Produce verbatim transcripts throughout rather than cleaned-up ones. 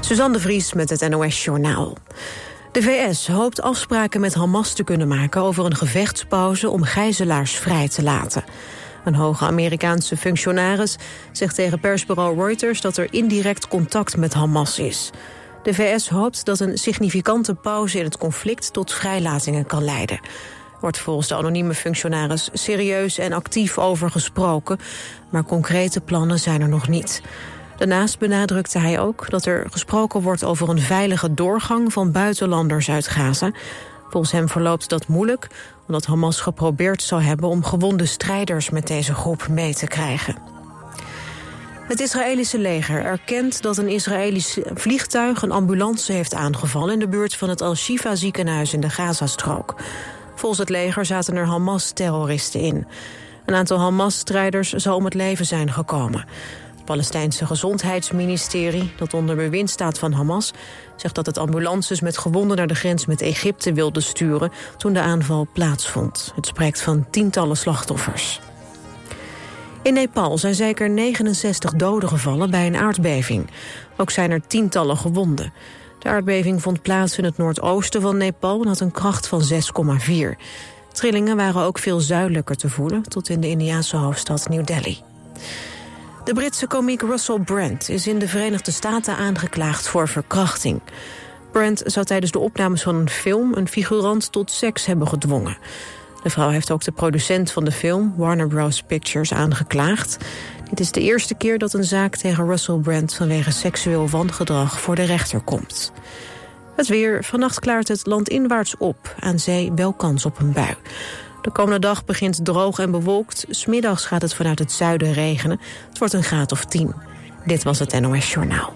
Suzanne de Vries met het N O S-journaal. De V S hoopt afspraken met Hamas te kunnen maken over een gevechtspauze om gijzelaars vrij te laten. Een hoge Amerikaanse functionaris zegt tegen persbureau Reuters dat er indirect contact met Hamas is. De V S hoopt dat een significante pauze in het conflict tot vrijlatingen kan leiden. Er wordt volgens de anonieme functionaris serieus en actief over gesproken, maar concrete plannen zijn er nog niet. Daarnaast benadrukte hij ook dat er gesproken wordt over een veilige doorgang van buitenlanders uit Gaza. Volgens hem verloopt dat moeilijk, omdat Hamas geprobeerd zou hebben om gewonde strijders met deze groep mee te krijgen. Het Israëlische leger erkent dat een Israëlisch vliegtuig een ambulance heeft aangevallen in de buurt van het Al-Shifa ziekenhuis in de Gazastrook. Volgens het leger zaten er Hamas-terroristen in. Een aantal Hamas-strijders zou om het leven zijn gekomen. Het Palestijnse gezondheidsministerie, dat onder bewind staat van Hamas, zegt dat het ambulances met gewonden naar de grens met Egypte wilde sturen toen de aanval plaatsvond. Het spreekt van tientallen slachtoffers. In Nepal zijn zeker negenenzestig doden gevallen bij een aardbeving. Ook zijn er tientallen gewonden. De aardbeving vond plaats in het noordoosten van Nepal en had een kracht van zes komma vier. Trillingen waren ook veel zuidelijker te voelen, tot in de Indiase hoofdstad New Delhi. De Britse komiek Russell Brand is in de Verenigde Staten aangeklaagd voor verkrachting. Brand zou tijdens de opnames van een film een figurant tot seks hebben gedwongen. De vrouw heeft ook de producent van de film, Warner Bros. Pictures, aangeklaagd. Dit is de eerste keer dat een zaak tegen Russell Brand vanwege seksueel wangedrag voor de rechter komt. Het weer. Vannacht klaart het landinwaarts op. Aan zee wel kans op een bui. De komende dag begint droog en bewolkt. 's Middags gaat het vanuit het zuiden regenen. Het wordt een graad of tien. Dit was het N O S-journaal.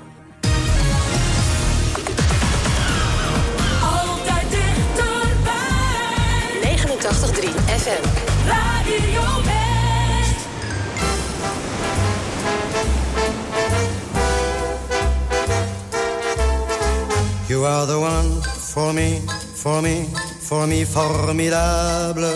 Altijd dichterbij. negenentachtig komma drie F M. Radio West. You are the one for me, for me, for me, formidable.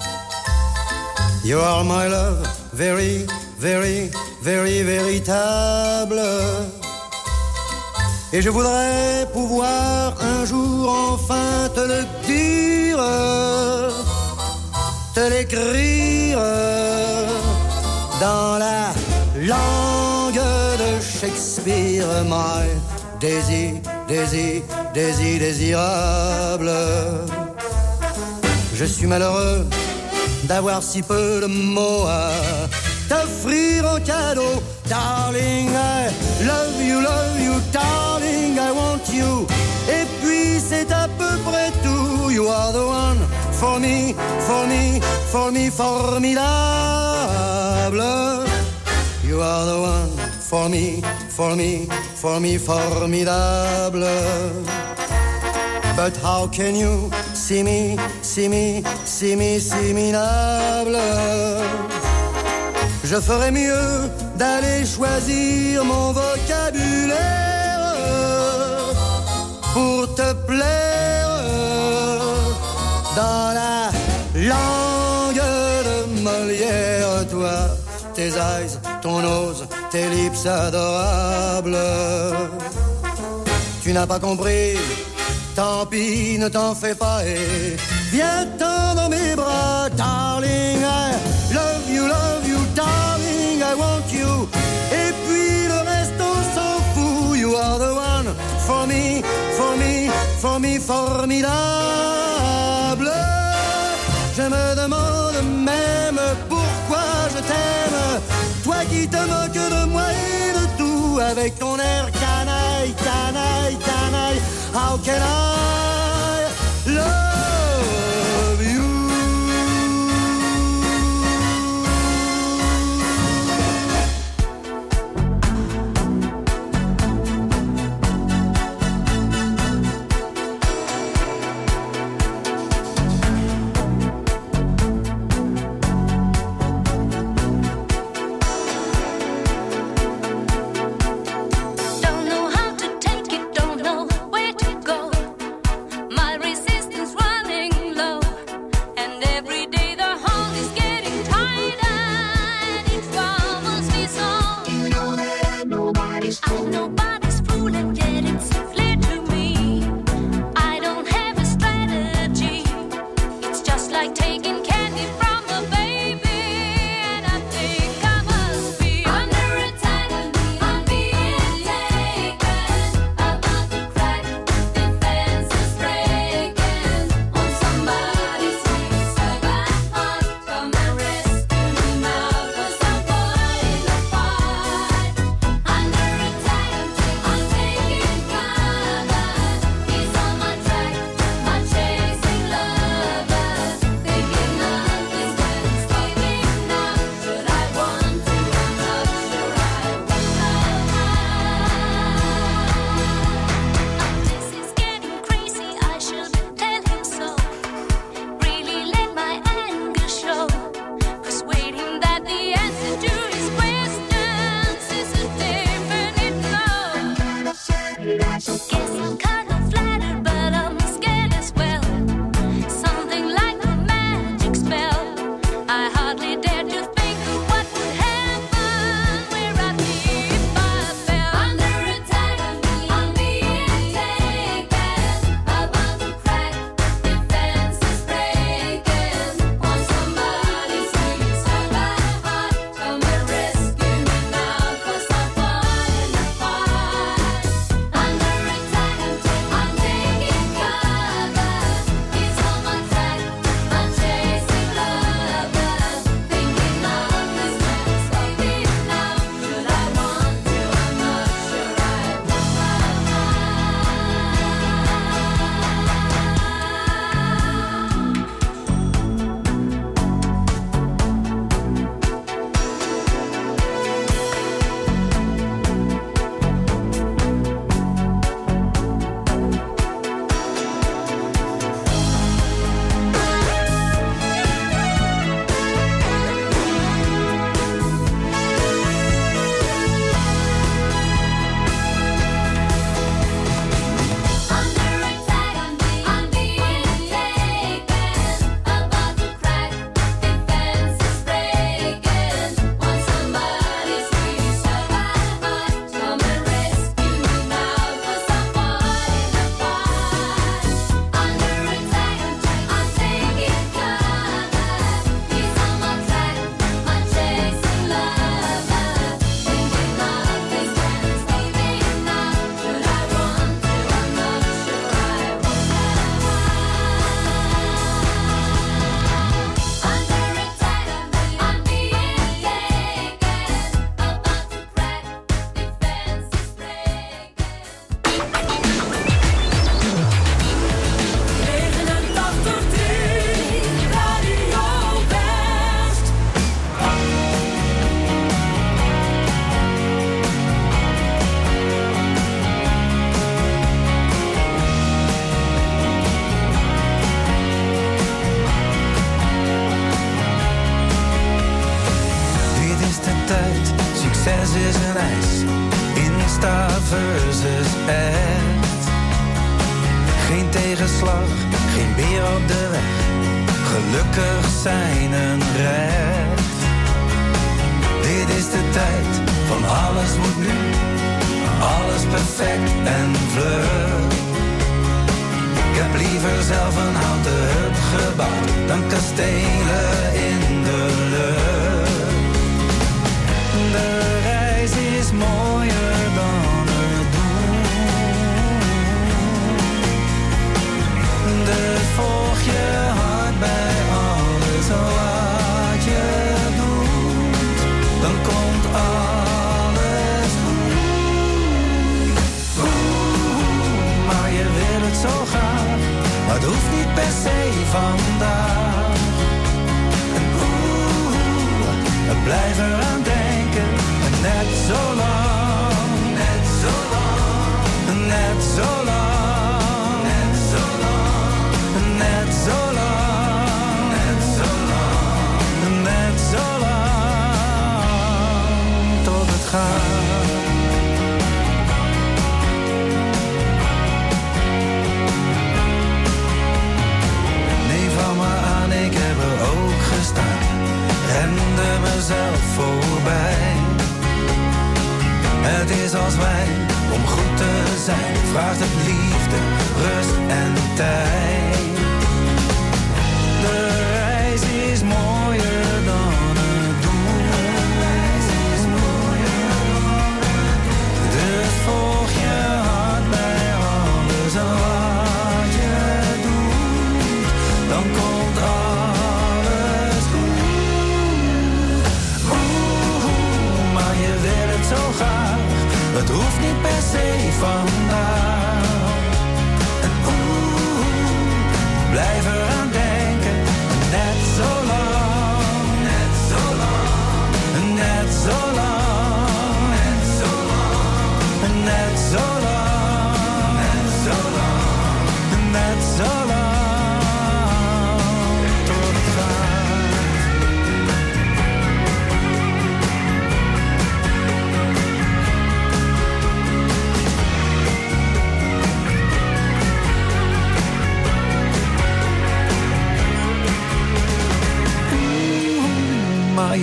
You are my love, very, very, very, véritable. Et je voudrais pouvoir un jour enfin te le dire, te l'écrire dans la langue de Shakespeare, my désir, désir, désir, désirable. Je suis malheureux d'avoir si peu de mots à t'offrir en cadeau. Darling, I love you, love you, darling, I want you. Et puis c'est à peu près tout. You are the one for me, for me, for me, formidable. You are the one for me, for me, for me, formidable. But how can you see me, see me, see me, see me, minable? Je ferais mieux d'aller choisir mon vocabulaire pour te plaire dans la langue de Molière. Toi, tes eyes, ton nose, tes lips adorables. Tu n'as pas compris, tant pis, ne t'en fais pas et viens-t'en dans mes bras. Darling, I love you, love you, darling, I want you. Et puis le reste on s'en fout. You are the one for me, for me, for me, formidable. Je me demande même pourquoi je t'aime. Toi qui te moques de moi et de tout, avec ton air canaille, canaille, canaille. How can I love you? Don't know how to take it, don't know where to go.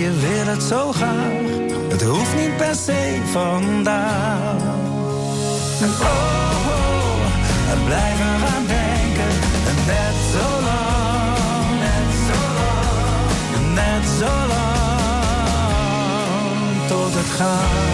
je wil het zo graag. Het hoeft niet per se vandaag. En oh, oh, en blijf eraan denken. En net zo lang, net zo lang, net zo lang, tot het gaat.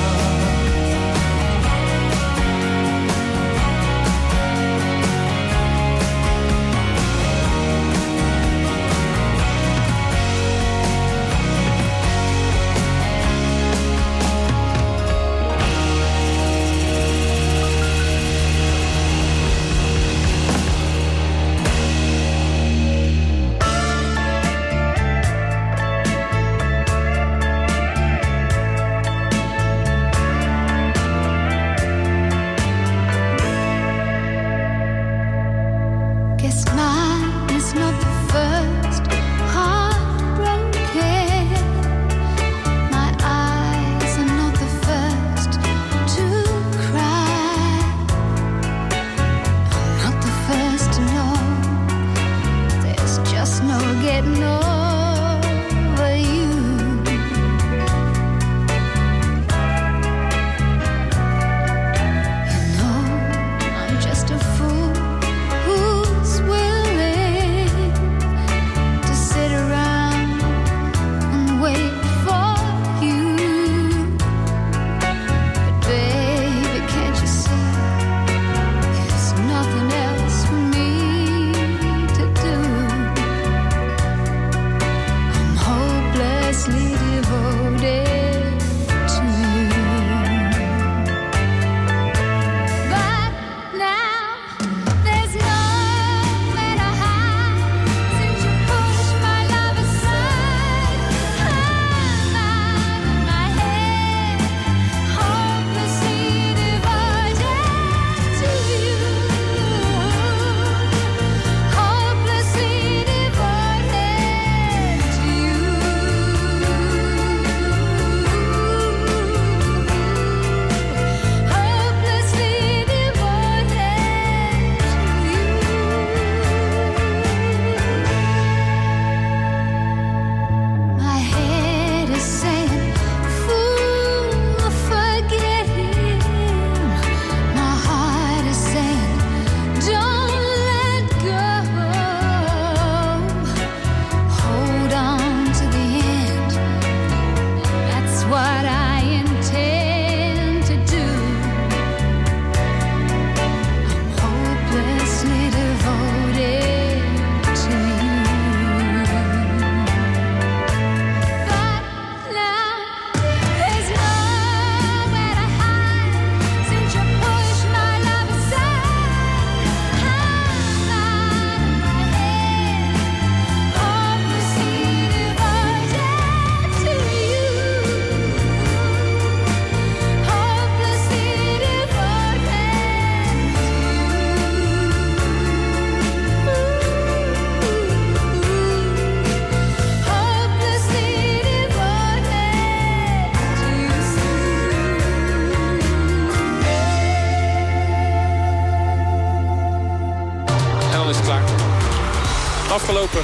Afgelopen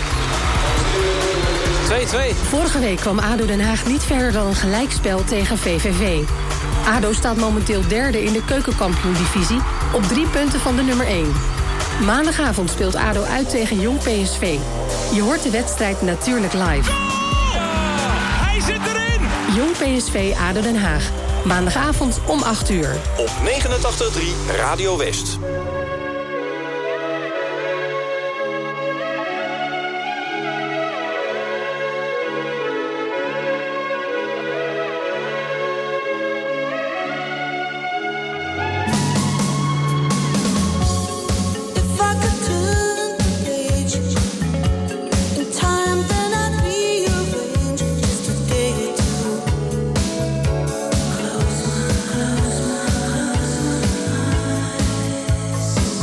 twee-twee. Vorige week kwam ADO Den Haag niet verder dan een gelijkspel tegen V V V. ADO staat momenteel derde in de keukenkampioen-divisie op drie punten van de nummer één. Maandagavond speelt ADO uit tegen Jong P S V. Je hoort de wedstrijd natuurlijk live. Hij zit erin! Jong P S V ADO Den Haag. Maandagavond om acht uur. Op negenentachtig komma drie Radio West. Close my eyes.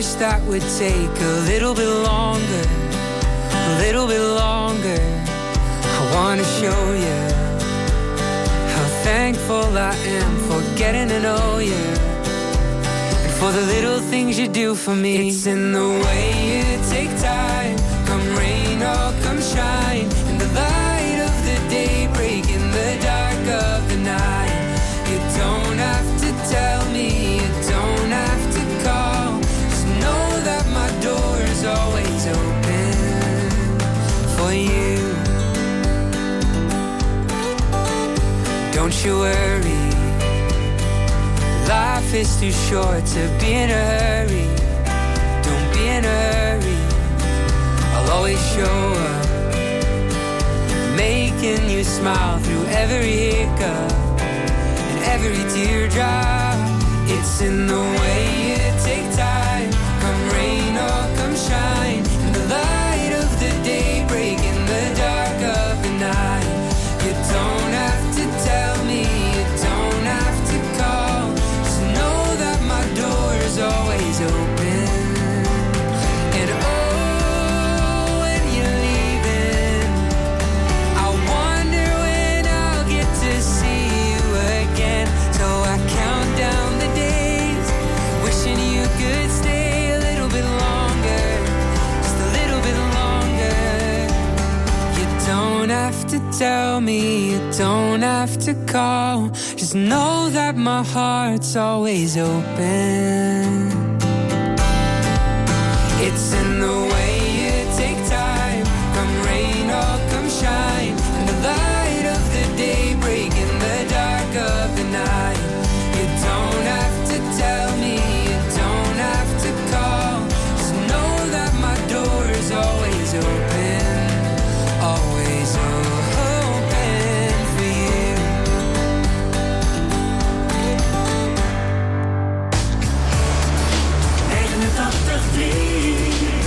wish that would take a little bit longer, a little bit longer. I wanna show you how thankful I am for getting to know you, and for the little things you do for me. It's in the way you take time, come rain or come shine, in the light of the day, break in the dark of the night. You don't have to tell me, you don't have to call, just know that my door is always open for you. Don't you worry, life is too short to be in a hurry. Don't be in a hurry, I'll always show up, making you smile through every hiccup and every teardrop. It's in the way you take time, come rain or come shine, in the light of the day, break in the dark of the night. You don't have to tell me, you don't have to call, just know that my door is always open. And oh, when you're leaving, I wonder when I'll get to see you again. So I count down the days, wishing you could stay a little bit longer, just a little bit longer. You don't have to tell me, you don't have to call, just know that my heart's always open. It's in the way you take time, come rain or come shine, in the light of the day, break in the dark of the night. You don't have to tell me, you don't have to call, just know that my door is always open, always open for you. negenentachtig komma drie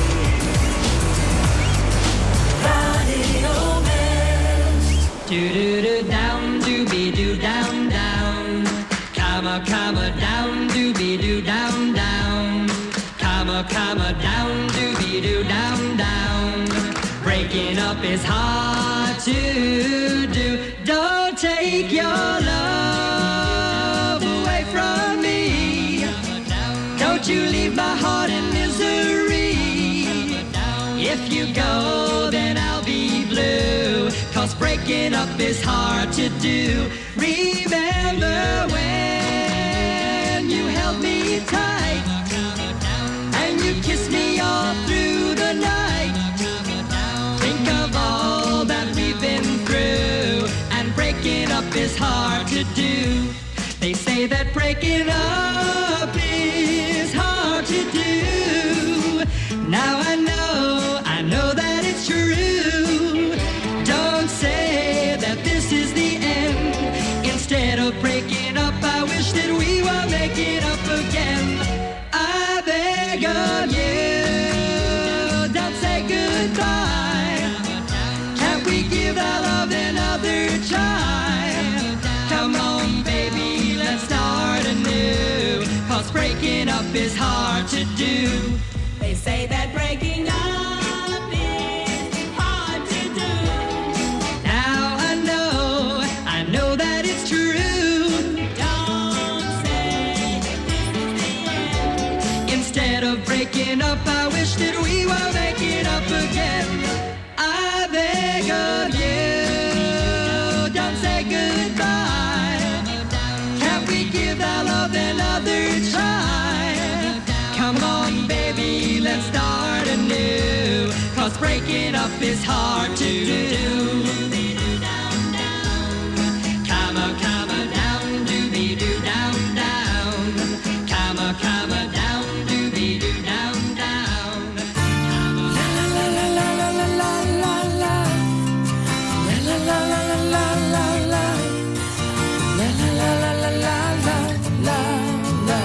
Radio West. Do do do down, do be do down down. Comma comma down, do be do down down. Comma comma down, do be do down down. Breaking up is hard to do. Don't take your love away from me. Don't you leave my heart in misery. If you go, then I'll be blue. Cause breaking up is hard to do. Remember when you held me tight and you kissed me all through the night. Think of all that we've been through, and breaking up is hard to do. They say that breaking up is hard to do. Now I know, I know that it's true. Don't say that this is the end. Instead of breaking up, I wish that we were making up again. I beg of you, don't say goodbye. Can't we give our love another try? Come on, baby, let's start anew. Cause breaking up is hard to do. They say that breaking up is hard to do. Now I know, I know that it's true. Don't say this is the end. Instead of breaking up, I wish that we were making up again. I beg of you, don't say goodbye. Can't we give our love another try? Come on, baby, let's start anew. Cause breaking up is hard to do. Comma, comma, down, doobie doo, down, down. Comma, comma, down, doobie doo, down, down. La la la la la la la la la. La la la la la la la la. La la la la la la la la la.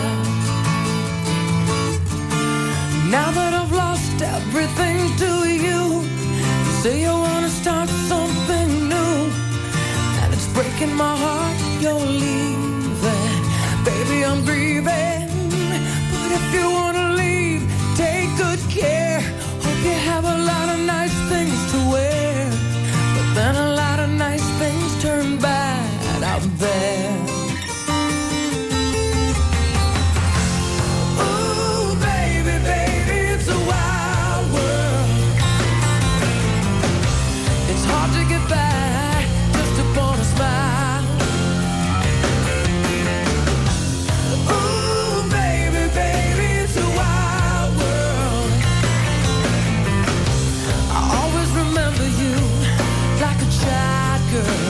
Now that I've lost everything to you, you say you wanna start something new, and it's breaking my heart you're leaving. Baby, I'm grieving, but if you wanna leave, take good care. Hope you have a lot of nice things to wear. But then a lot of nice things turn bad out there. Ooh, baby, baby, it's a wild world. It's hard to get by just upon a smile. Ooh, baby, baby, it's a wild world. I always remember you like a child girl.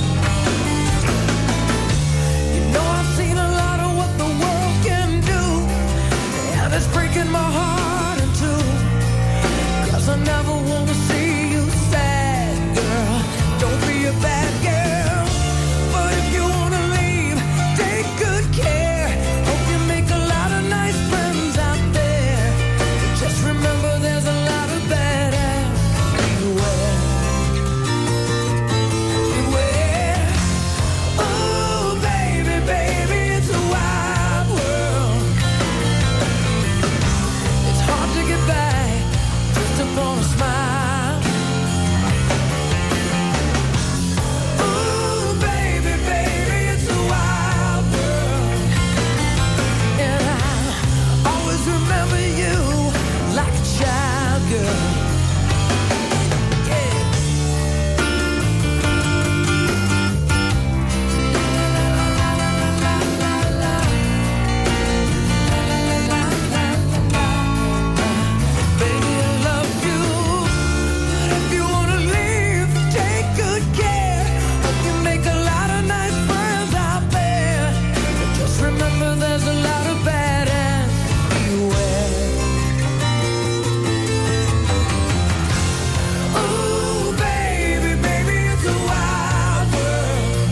You know I've seen a lot of what the world can do, and it's breaking my heart in two. 'Cause I never wanna see you sad, girl. Don't be a bad girl. But if you wanna leave, take good care. Hope you make a lot of nice friends out there. Just remember there's a lot of badass beware. Beware. Ooh, baby, baby, it's a wild world. It's hard to get by just upon a smile. Ooh, baby, baby, it's a wild world. And I always remember you like a child girl. Yeah. Baby, I love you. But if you wanna leave, take good care. Hope you make a lot of nice friends out there. But just remember there's a lot of badass beware. Ooh, baby, baby, it's a wild world.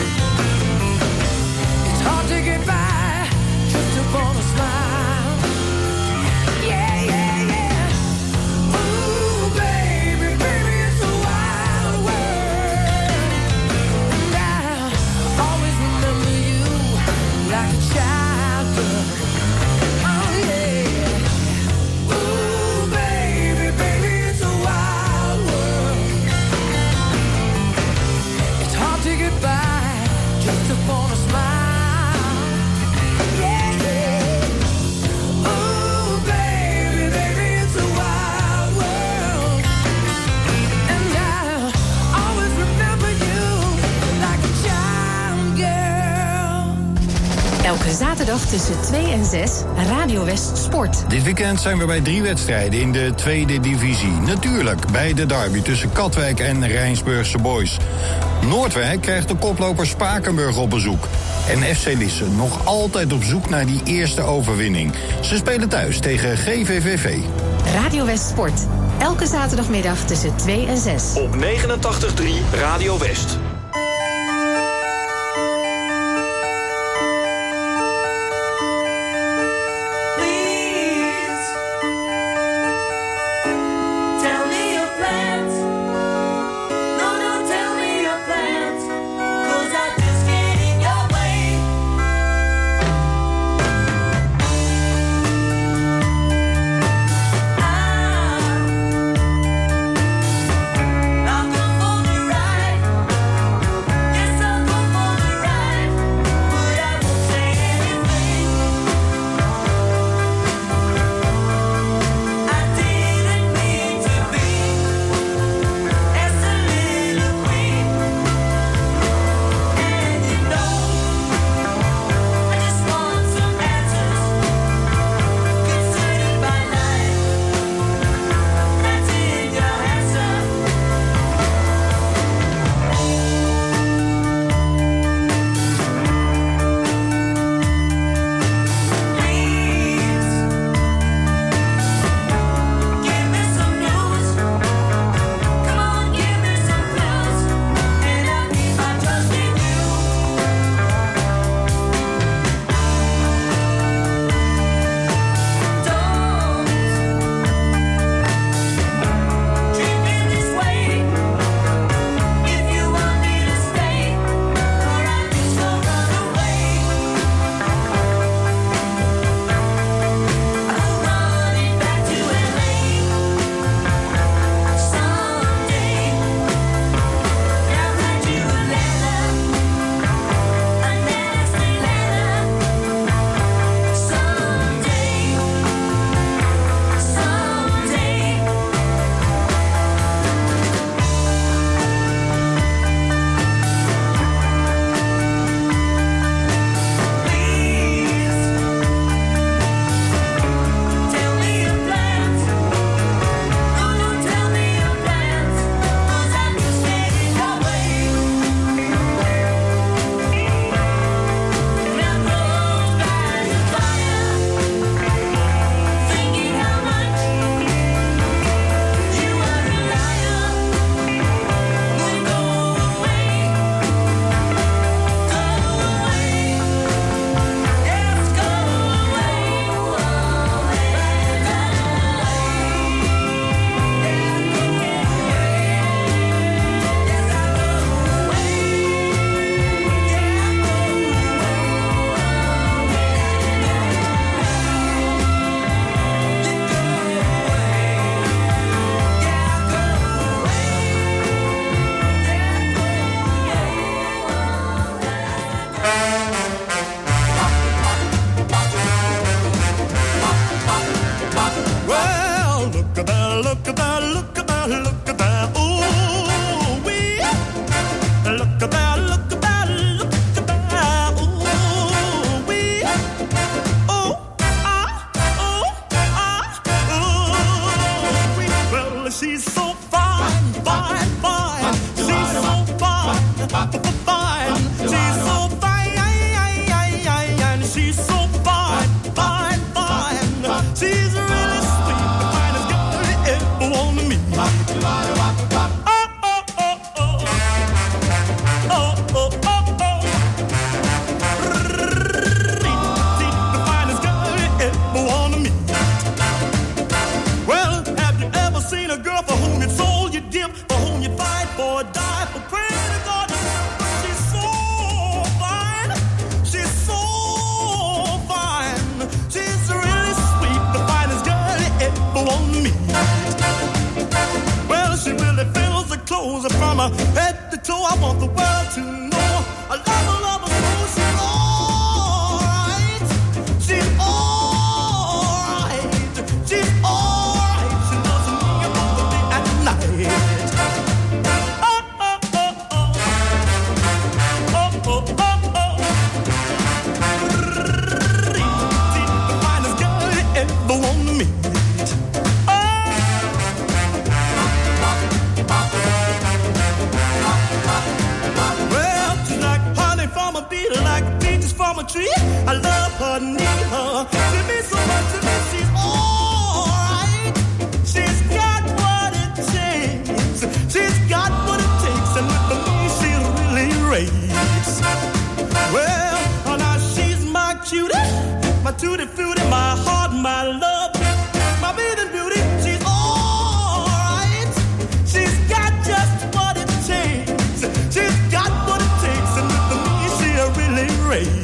It's hard to get by just upon a smile. Yeah, yeah, yeah. Ooh, baby, baby, it's a wild world. And I always remember you like a child girl. Oh, yeah. Ooh, baby, baby, it's a wild world. It's hard to get by just upon a smile. Yeah, yeah. Ooh, baby, baby, it's a wild world. And I always remember you like a child girl. Elke zaterdag tussen twee en zes, Radio West Sport. Dit weekend zijn we bij drie wedstrijden in de tweede divisie. Natuurlijk bij de derby tussen Katwijk en Rijnsburgse Boys. Noordwijk krijgt de koploper Spakenburg op bezoek. En F C Lisse nog altijd op zoek naar die eerste overwinning. Ze spelen thuis tegen G V V V. Radio West Sport. Elke zaterdagmiddag tussen twee en zes. Op negenentachtig drie Radio West. Please tell me your plans. No, no, tell me your plans. 'Cause I just get in your way. I'm not gonna hold you right. I want the world to know I love her, love her so she's alright. She's alright. She's alright. She loves me both the day and night. Oh, oh, oh, oh. Oh, oh, oh, oh. She's the finest girl you ever want to meet. From a tree, I love her, need her. She means so much to me. She's alright. She's got what it takes. She's got what it takes, and with me she really raves. Well, oh, now she's my cutie, my tutti frutti, my heart, my love, my bathing beauty. She's alright. She's got just what it takes. She's got what it takes, and with me she really raves.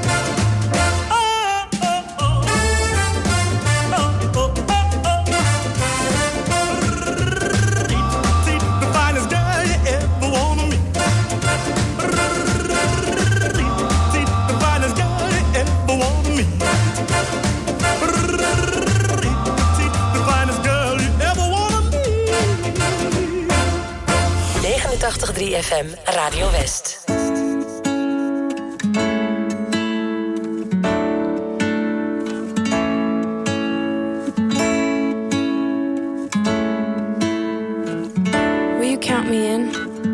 negenentachtig komma drie F M Radio West. Will you count me in?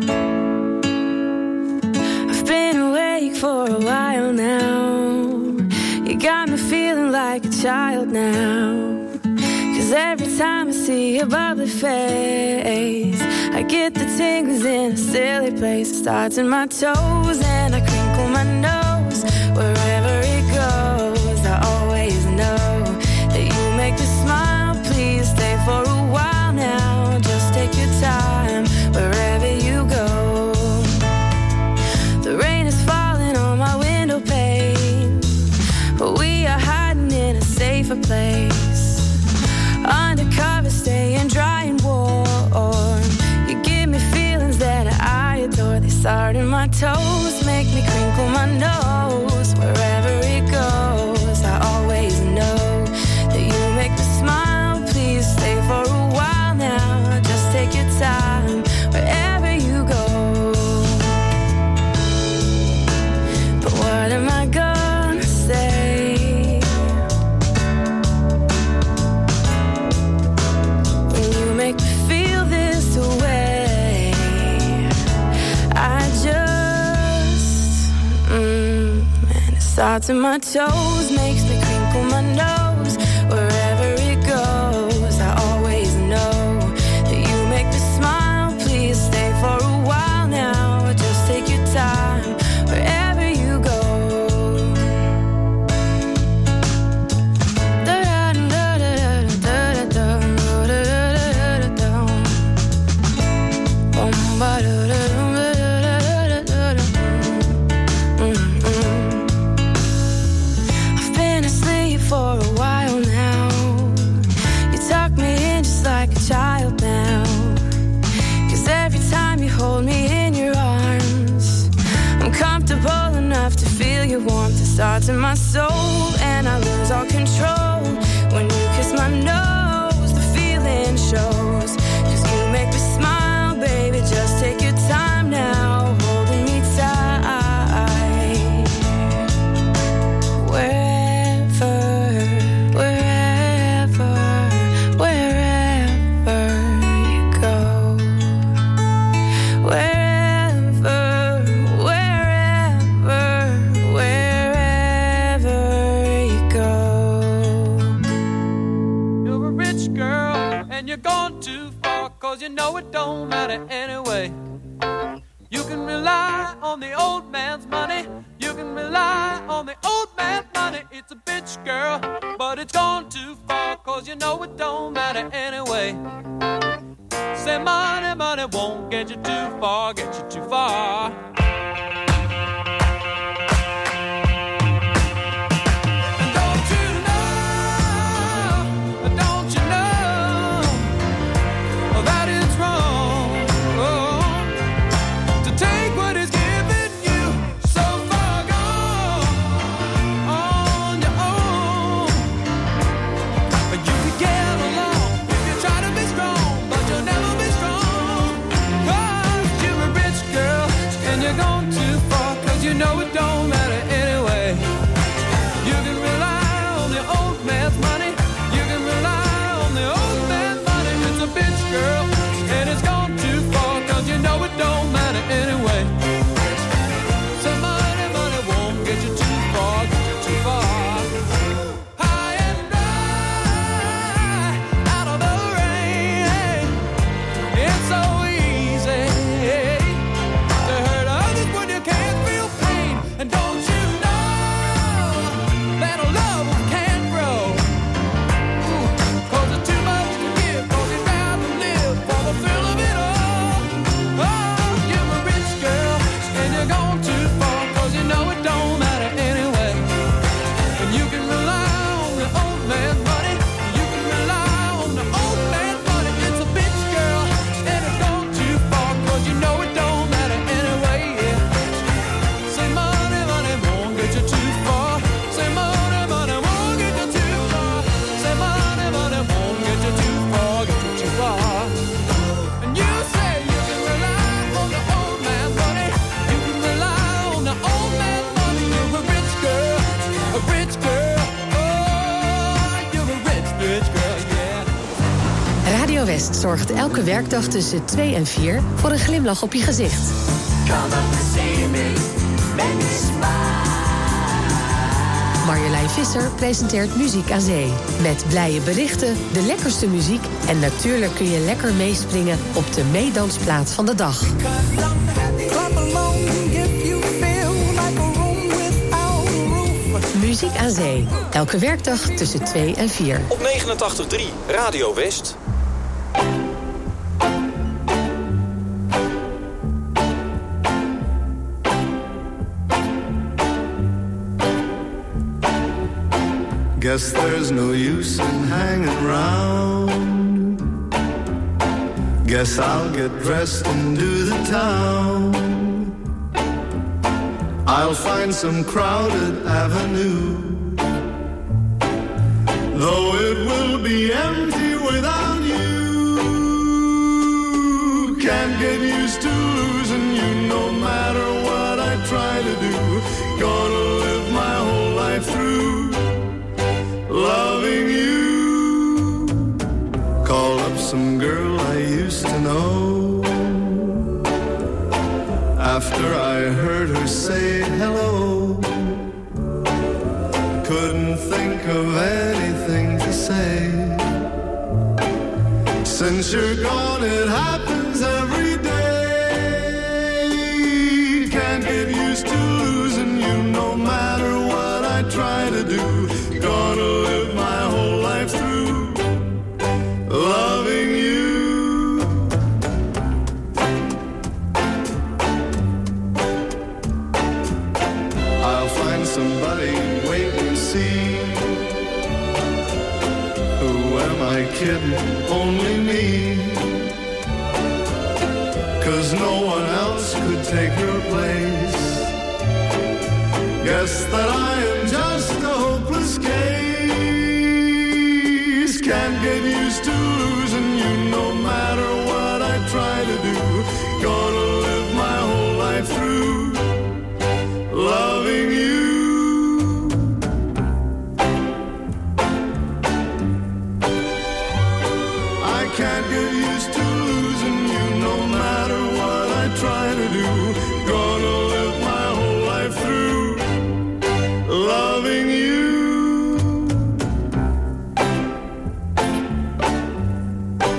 I've been awake for a while now. You got me feeling like a child now. Cause every time I see your bubbly face, I get the tingles in a silly place. It starts in my toes and I crinkle my nose. Wherever it goes, I always know that you make me smile. Please stay for a while now. Just take your time wherever you go. The rain is falling on my window pane, but we are hiding in a safer place. Undercover, staying dry and warm. You give me feelings that I adore. They start in my toes, make me crinkle my nose. Wherever it goes, I always know that you make me smile. Please stay for a while now. Just take your time wherever you go. But what am I gonna say? Make me feel this way. I just, mm, and it starts in my toes, makes me crinkle my nose. Wherever it goes, I always know that you make me smile. Please stay for a while now. Just take your time wherever you go. I've been asleep for a while now. You tuck me in just like a child now. Cause every time you hold me in your arms, I'm comfortable enough to feel your warmth. It starts in my soul and I lose all control. When you kiss my nose, the feeling shows. Cause you make me smile, baby, just take your time now, holding me tight. Wherever, wherever, wherever you go. Wherever, wherever, wherever you go. You're a rich girl and you're gone too far, cause you know it don't matter anyway. You can rely on the old man's money. You can rely on the old man's money. It's a bitch, girl, but it's gone too far, cause you know it don't matter anyway. Say money, money won't get you too far, get you too far. Take Radio West zorgt elke werkdag tussen twee en vier voor een glimlach op je gezicht. Come up and see me, make me smile. Marjolein Visser presenteert Muziek aan Zee. Met blije berichten, de lekkerste muziek en natuurlijk kun je lekker meespringen op de meedansplaat van de dag. Muziek aan Zee. Elke werkdag tussen twee en vier. Op negenentachtig komma drie Radio West. Guess there's no use in hanging round. Guess I'll get dressed and do the town. I'll find some crowded avenue, though it will be empty without you. Can't get used to losing you no matter what I try to do. Gonna live my whole life through loving you. Call up some girl I used to know. After I heard her say hello, couldn't think of anything to say. Since you're gone, it happens every day. Can't get used to losing you no matter what I try to do. Gonna live my whole life through loving you. I'll find somebody, wait and see. Who am I kidding? Only me. 'Cause no one else could take your place. Guess that I am just a hopeless case. Can't get used to losing you no matter what I try to do. Gonna live my whole life through loving you. I can't get used to losing you no matter what I try to do. Gonna live my whole life through loving you.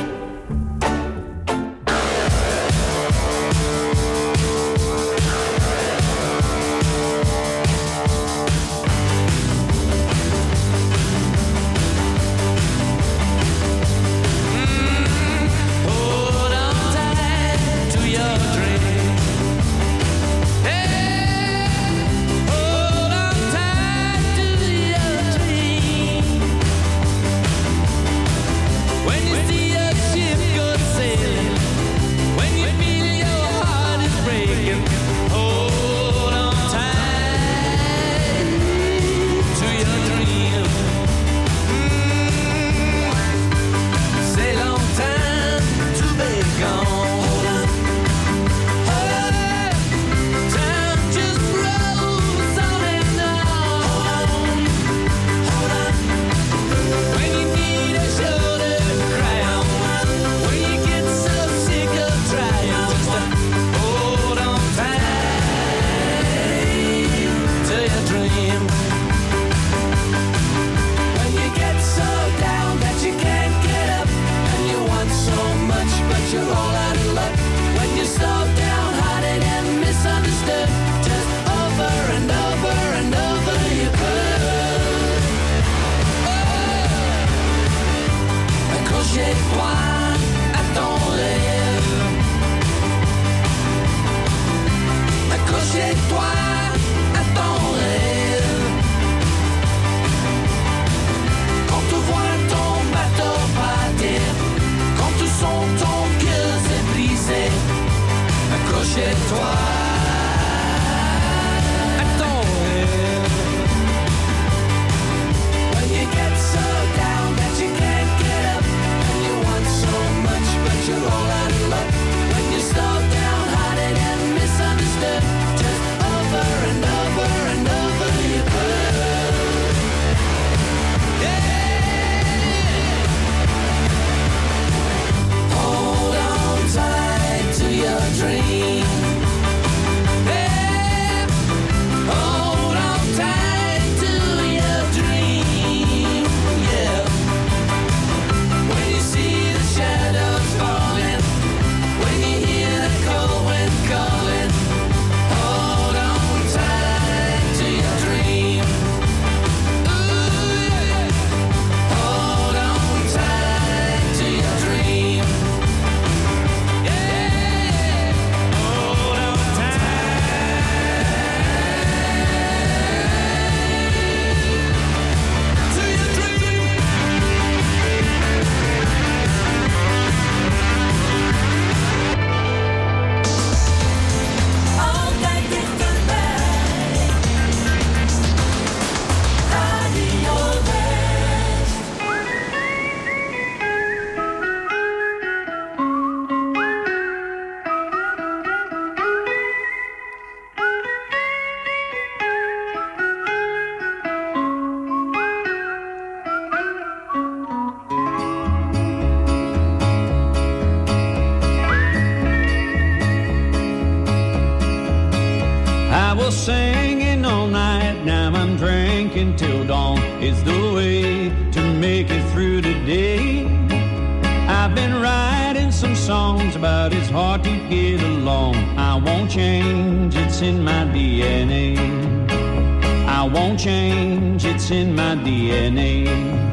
singing all night, now I'm drinking till dawn. It's the way to make it through the day. I've been writing some songs about it's hard to get along. I won't change, it's in my D N A. I won't change, it's in my D N A.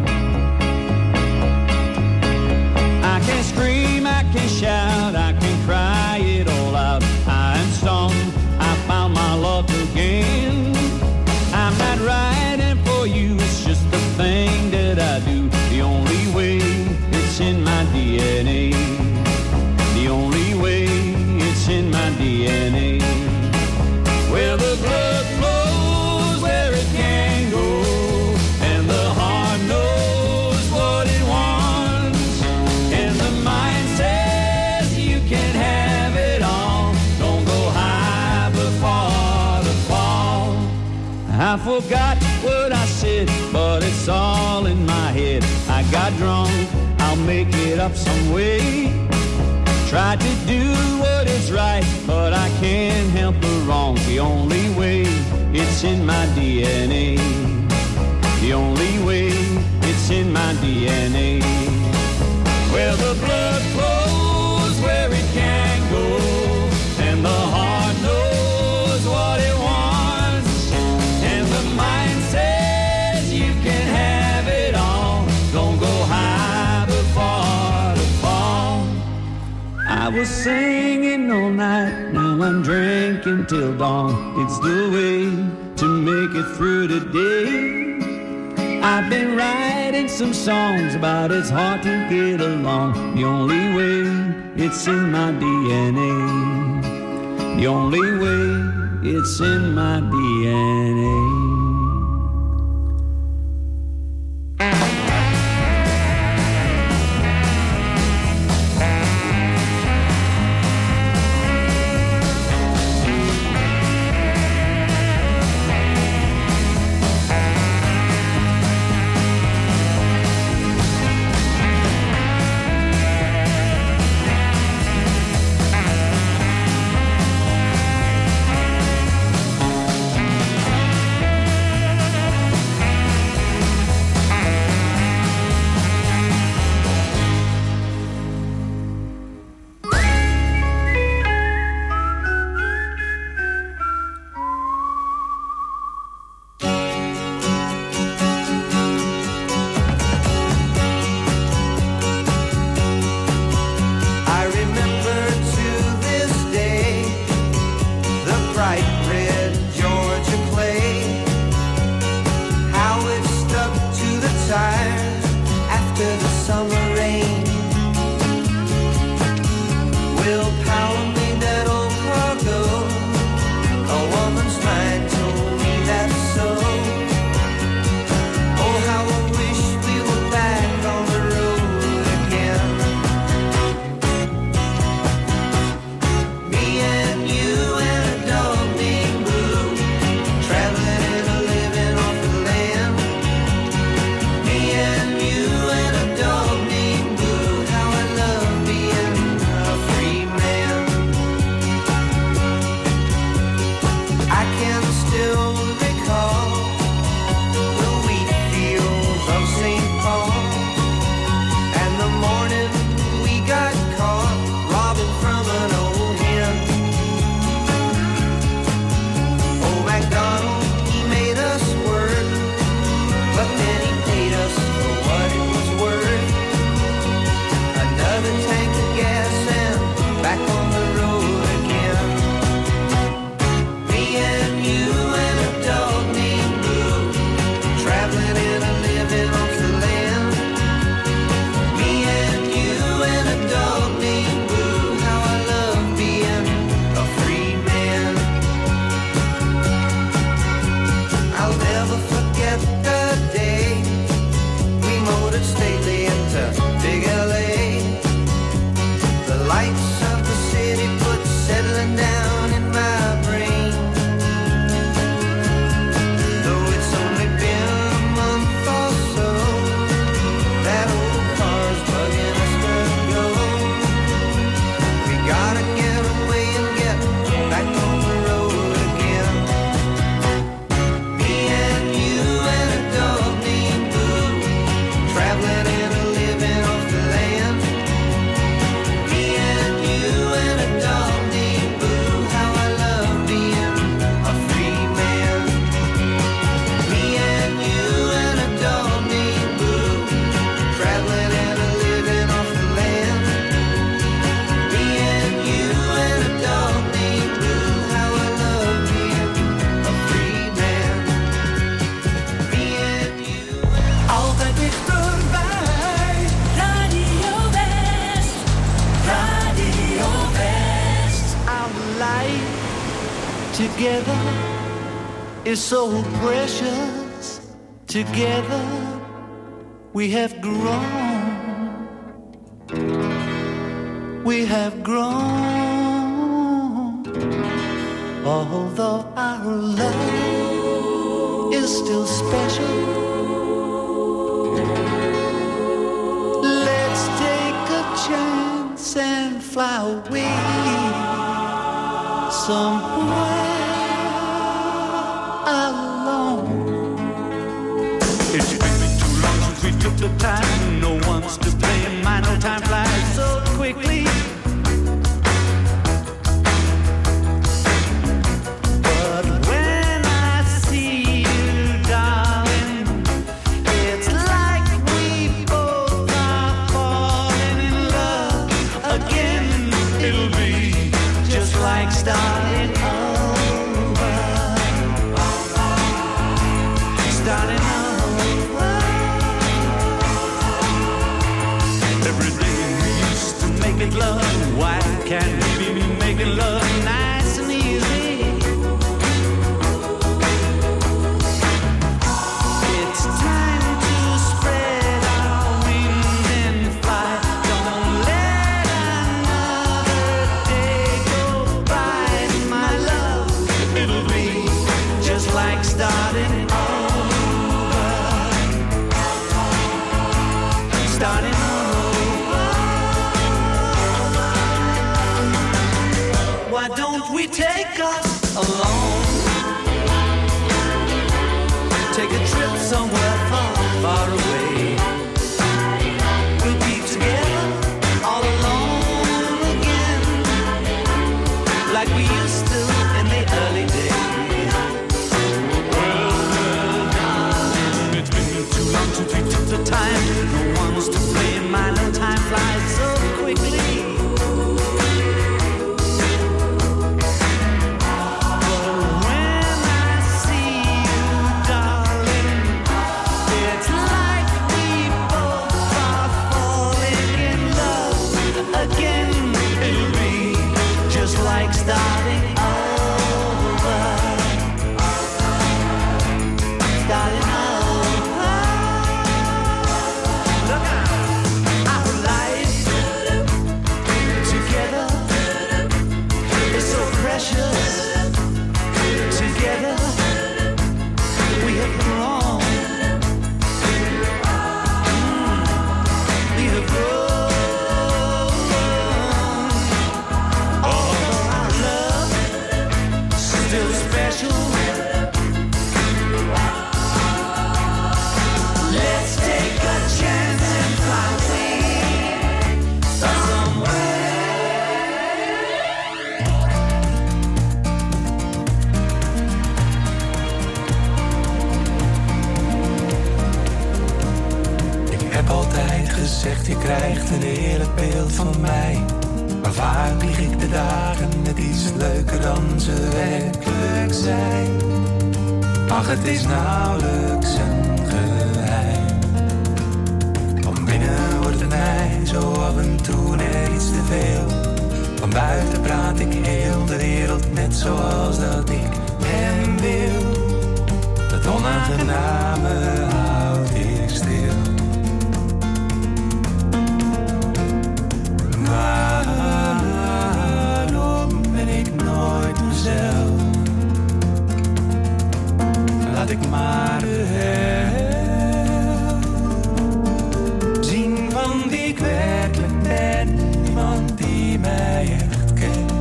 I can scream, I can shout, I can cry it all out. I am stoned, I found my luck again. I'm not writing for you, it's just the thing that I do. The only way, it's in my D N A. The only way, it's in my D N A. Well, the blood flows where it can go, and the heart knows what it wants, and the mind says you can have it all. Don't go high before the fall. I forgot what I said, but it's all in my head. I got drunk, I'll make it up some way. Tried to do what is right, but I can't help the wrong. The only way, it's in my D N A. The only way, it's in my D N A. Well, the blood flows where it can go, and the heart knows what it wants, and the mind says you can have it all. Don't go high before the fall. I was singing all night, now I'm drinking till dawn. It's the way to make it through the day. I've been writing some songs about it's hard to get along. The only way, it's in my D N A. The only way, it's in my D N A. together is so precious. Together we have grown. We have grown. Although our love is still special, let's take a chance and fly away somewhere alone. It's been too long since we took the time. No one's to blame. My no time flies so quickly. But when I see you, darling, it's like we both are falling in love again. It'll be just like starting over. Starting over. Every day we used to make it love. Why can't we be making love nice and easy? It's time to spread our wings and fly. Don't let another day go by, my love. It'll be just like starting over. Starting over. Why don't we take us alone? Take a trip somewhere far, far away. We'll be together all alone again, like we used to in the early days. Well, well, darling, it's been too long since we took the time. No one's to blame. My no time flies so quickly. Like starting over. Starting over. Look out. Our life together is so precious. Together we have grown. Mm. We have grown. Still special. Let's take a chance and fly away somewhere. Ik heb altijd gezegd, je krijgt een eerlijk beeld van mij. Maar vaak lieg ik de dagen net iets leuker dan ze werkelijk zijn. Ach, het is nauwelijks een geheim. Van binnen wordt het mij zo af en toe net iets te veel. Van buiten praat ik heel de wereld net zoals dat ik hem wil. Het onaangename houd ik stil. Waarom ben ik nooit mezelf? Laat ik maar de helft zien van wie ik werkelijk ben. Iemand die mij echt kent.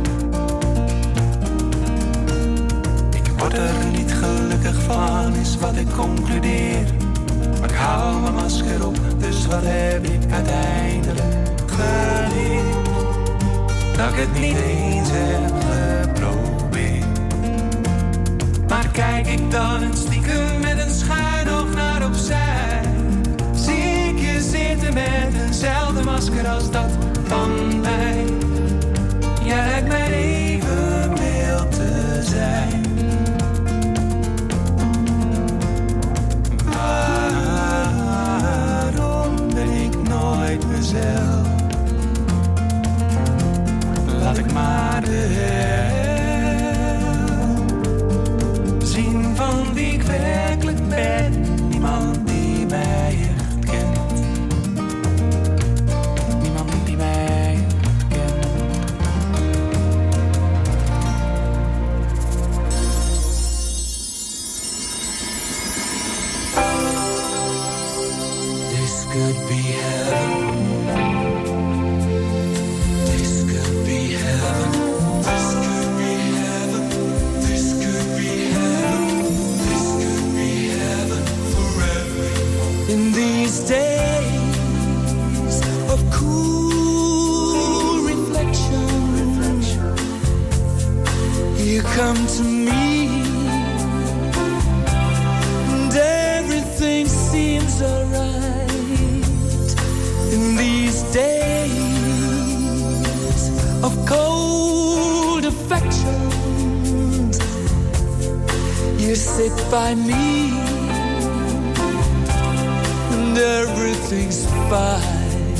Ik word er niet gelukkig van, is wat ik concludeer. Maar ik hou mijn masker op, dus wat heb ik uiteindelijk geleerd? Dat ik het niet eens heb geprobeerd. Maar kijk ik dan een stiekem met een schuin oog naar opzij, zie ik je zitten met eenzelfde masker als dat van mij. Jij lijkt mij even mild te zijn. Waarom ben ik nooit mezelf? Laat ik maar de helft bed, niemand die mij herkent. Niemand die mij herkent. This could be heaven. This could be heaven. This could be heaven. This could be heaven. This could be heaven for everyone. In these days of cool reflection, reflection. You come to me, and everything seems alright. In these days of cold affections, you sit by me, and everything's fine.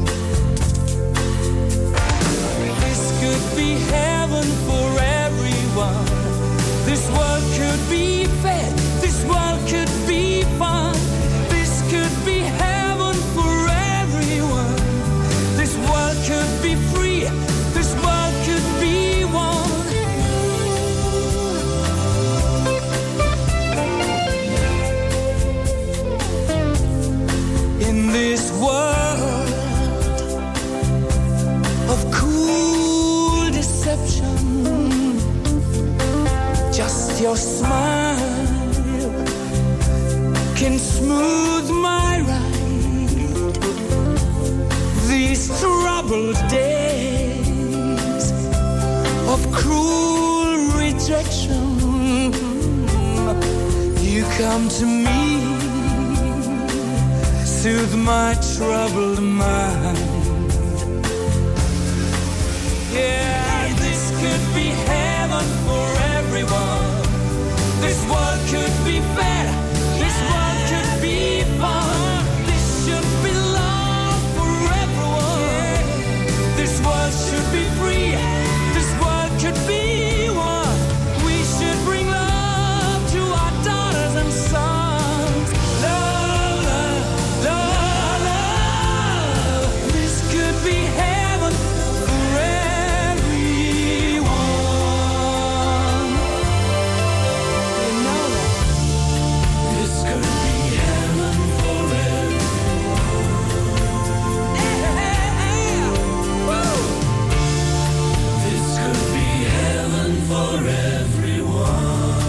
This could be heaven for everyone. This world could be fair. This world could be fun. This could be heaven for everyone. This world could be free. This world could be one. In this world of cool deception, just your smile can smooth my ride. These troubled days of cruel rejection, you come to me, soothe my troubled mind. Yeah, this could be heaven for everyone. This world could be fair. This world could be fun. This should be love for everyone. This world should be free. This world could be one. We should bring love to our daughters and sons. Love, love, love, love. This could be heaven for everyone. You know that. This could be heaven for everyone. Yeah. Woo. This could be heaven for everyone.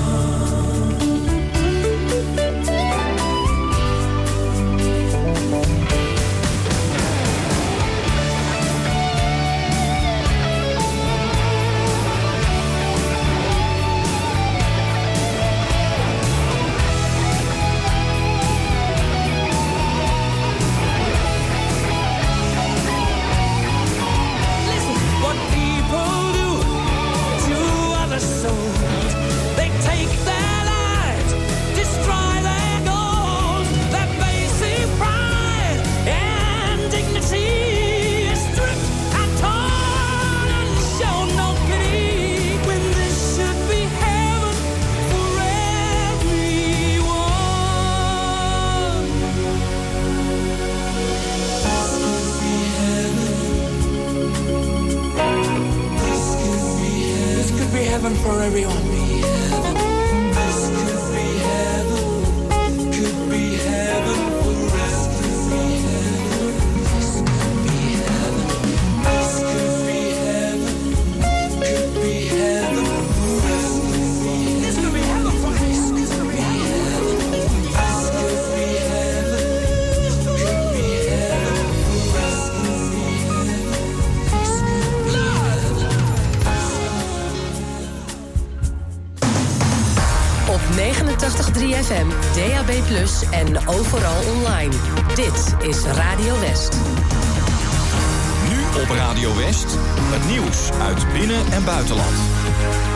Listen, what people do to other souls, they take their lives, destroy their goals, their basic pride and dignity is stripped and torn and show no pity, when this should be heaven for everyone. This could be heaven. This could be heaven. This could be heaven for everyone. This could be heaven. Could be heaven for us. Could be heaven. This could be heaven. This could be heaven. Could be heaven for us. This could be heaven for us. This could be heaven. This could be heaven. Could be heaven for us. Could be heaven. This could be heaven. Op negenentachtig komma drie F M, D A B plus, en overal online. Dit is Radio West. Nu op Radio West, het nieuws uit binnen- en buitenland.